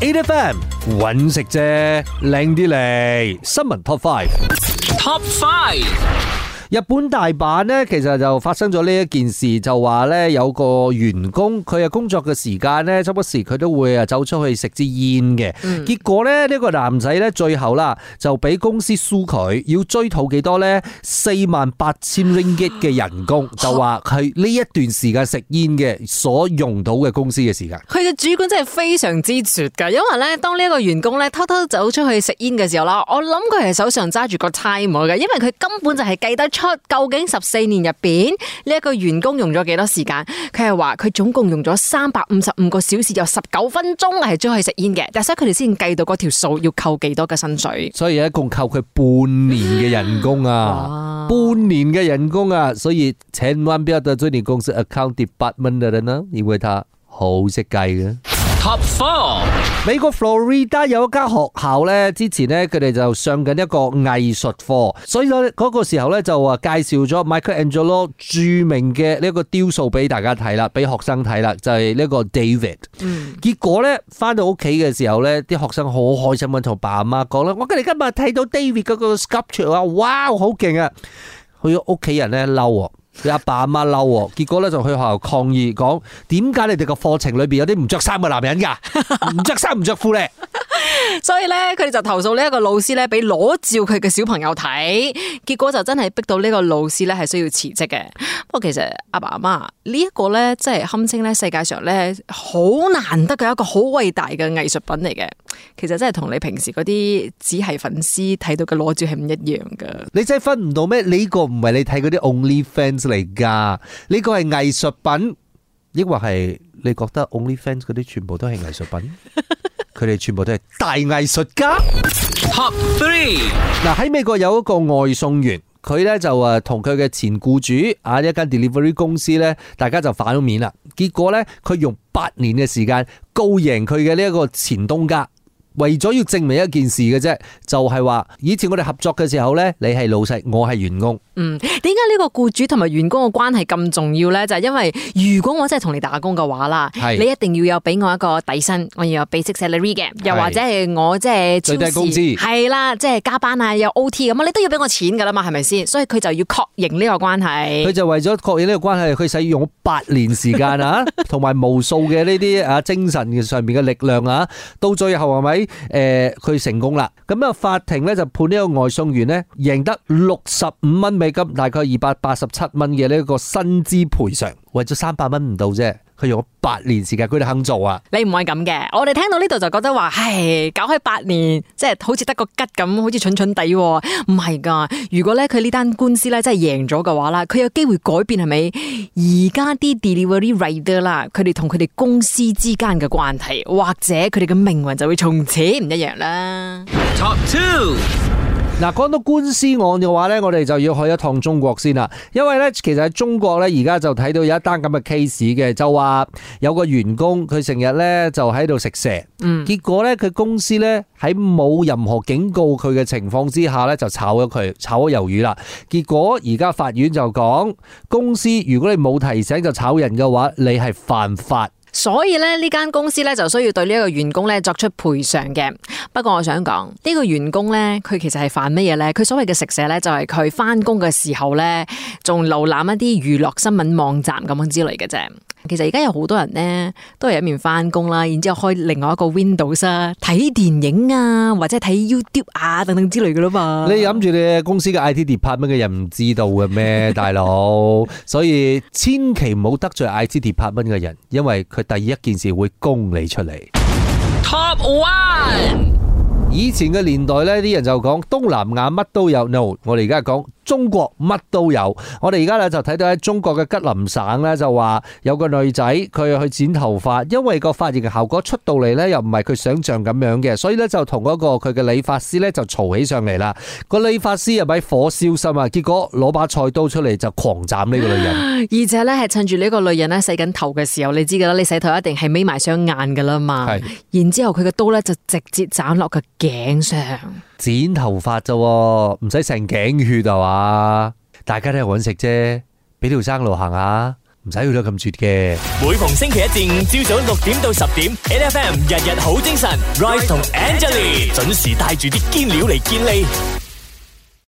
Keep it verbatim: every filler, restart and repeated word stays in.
A F M 搵食啫，靚啲嚟。新聞 Top Five，Top Five。 日本大阪呢，其實就發生咗呢一件事，就話呢有個員工佢嘅工作嘅時間呢，周不時佢都會啊走出去食支煙嘅。嗯、結果呢，呢個男仔呢，最後啦就俾公司訴佢，要追討幾多呢？四萬八千 ringgit 嘅人工，就話佢呢一段時間食煙嘅所用到嘅公司嘅時間。 佢嘅主管真係非常之絕噶，因為呢，當呢一個員工呢偷偷走出去食煙嘅時候啦，我諗佢係手上揸住個 timer 嘅，因為佢根本就係計得出。究竟十四年入邊呢一個員工用咗幾多時間？佢係話佢總共用咗三百五十五個小時，有十九分鐘係出去食煙嘅，但係所以佢哋先計到嗰條數要扣幾多嘅薪水。 所以一共扣佢半年嘅人工啊，半年嘅人工啊，所以千萬不要得罪你公司 account department 嘅人啦，因為他好識計嘅。 Top Four， 美國 Florida 有一間學校咧，之前咧佢哋就上緊一個藝術課，所以咧嗰個時候咧就話介紹咗 Michelangelo 著名嘅呢一個雕塑俾大家睇啦，俾學生睇啦，就係呢個 David。嗯，結果咧翻到屋企嘅時候咧，啲學生好開心咁同爸阿媽講啦，我哋今日睇到 David 嗰個 sculpture 啊，哇，好勁啊！佢屋企人咧嬲。佢阿爸阿媽嬲，結果咧就去學校抗議，講點解你哋個課程裏邊有啲唔着衫嘅男人噶，唔着衫唔着褲咧？ 所以咧，佢哋就投訴呢一個老師咧，俾裸照佢嘅小朋友睇，結果就真係逼到呢個老師咧係需要辭職嘅。不過其實阿爸阿媽呢一個咧，即係堪稱咧世界上咧好難得嘅一個好偉大嘅藝術品嚟嘅。其實真係同你平時嗰啲只係粉絲睇到嘅裸照係唔一樣噶。你真係分唔到咩？呢個唔係你睇嗰啲 OnlyFans 嚟噶，呢個係藝術品，抑或係你覺得 OnlyFans 嗰啲全部都係藝術品？佢哋全部都係大藝術家。 Top Three， 嗱，喺美國有一個外送員，佢咧就誒同佢嘅前僱主啊一間 delivery 公司咧，大家就反咗面啦。結果咧，佢用八年嘅時間告贏佢嘅呢一個前東家。為咗要證明一件事嘅啫，就係話以前我哋合作嘅時候呢，你係老細，我係員工。 嗯，點解呢個僱主同埋員工嘅關係咁重要呢？就係因為如果我真係同你打工嘅話啦，你一定要有俾我一個底薪，我要有 basic salary 嘅，又或者係我即係最低工資， 係啦，即係加班啊，有 O T 咁，你都要俾我錢噶啦嘛，係咪先？所以佢就要確認呢個關係。 佢就為咗確認呢個關係，佢使用咗八年時間啊，同埋無數嘅呢啲啊精神上面嘅力量啊，到最後係咪？誒，佢、呃、成功啦，咁啊法庭咧就判呢個外送員咧贏得六十五蚊美金，大概二百八十七蚊嘅呢個薪資賠償，為咗三百蚊唔到啫，佢用咗八年時間，佢哋肯做啊！ 你唔係咁嘅，我哋聽到呢度就覺得話，唉，搞開八年，即係好似得個吉咁，好似蠢蠢地，唔係噶。如果咧佢呢單官司咧真係贏咗嘅話啦，佢有機會改變係咪？而家啲 delivery rider 啦，佢哋同佢哋公司之間嘅關係，或者佢哋嘅命運就會從此唔一樣啦。 Top Two。 嗱，講到官司案嘅話咧，我哋就要去一趟中國先啦。因為咧，其實喺中國咧，而家就睇到有一單咁嘅 case 嘅，就話有個員工佢成日咧就喺度食蛇，嗯，結果咧佢公司咧喺冇任何警告佢嘅情況之下咧就炒咗佢，炒咗魷魚啦。結果而家法院就講，公司如果你冇提醒就炒人嘅話，你係犯法。 所以咧，呢間公司咧就需要對呢一個員工咧作出賠償嘅。不過我想講，呢個員工咧，佢其實係犯乜嘢咧？佢所謂嘅食蛇咧，就係佢翻工嘅時候咧，仲瀏覽一啲娛樂新聞網站咁樣之類嘅啫。其實而家有好多人咧，都係一面翻工啦，然之後開另外一個 Windows 啊，睇電影啊，或者睇 YouTube 啊等等之類嘅啦嘛。 你諗住你公司嘅 I T department 嘅人唔知道嘅咩，大佬？所以千祈唔好得罪 I T department 嘅人，因為佢第一件事會供你出嚟。 Top One。 以前嘅年代呢，啲人就講東南亞乜都有 ，no， 我哋而家講中國乜都有。我哋而家咧就睇到喺中國嘅吉林省呢，就話有個女仔佢去剪頭髮，因為個髮型嘅效果出到嚟呢，又唔係佢想象咁樣嘅，所以呢，就同嗰個佢嘅理髮師呢，就嘈起上嚟啦。個理髮師又咪火燒心啊，結果攞把菜刀出嚟就狂斬呢個女人， 而且呢，係趁住呢個女人呢洗緊頭嘅時候，你知噶啦，你洗頭一定係眯埋雙眼噶啦嘛，然之後佢嘅刀呢，就直接斬落佢頸上。 剪頭髮咋，唔使成頸血啊嘛！大家都係搵食啫，俾條生路行下， 唔使去到咁絕嘅。 每逢星期一至五朝早六點到十點，N F M 日日好精神 ，Rise 同 Angelie 準時帶住啲堅料嚟健利。